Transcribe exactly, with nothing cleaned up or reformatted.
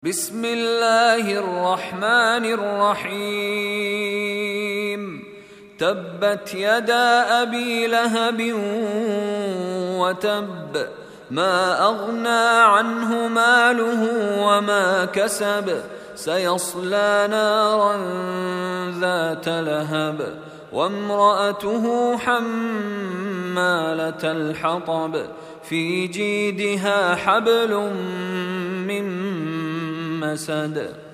بسم الله الرحمن الرحيم. تبت يدا أبي لهب وتب، ما أغنى عنه ماله وما كسب، سيصلى نارا ذات لهب وامرأته حمالة الحطب، في جيدها حبل من مسد.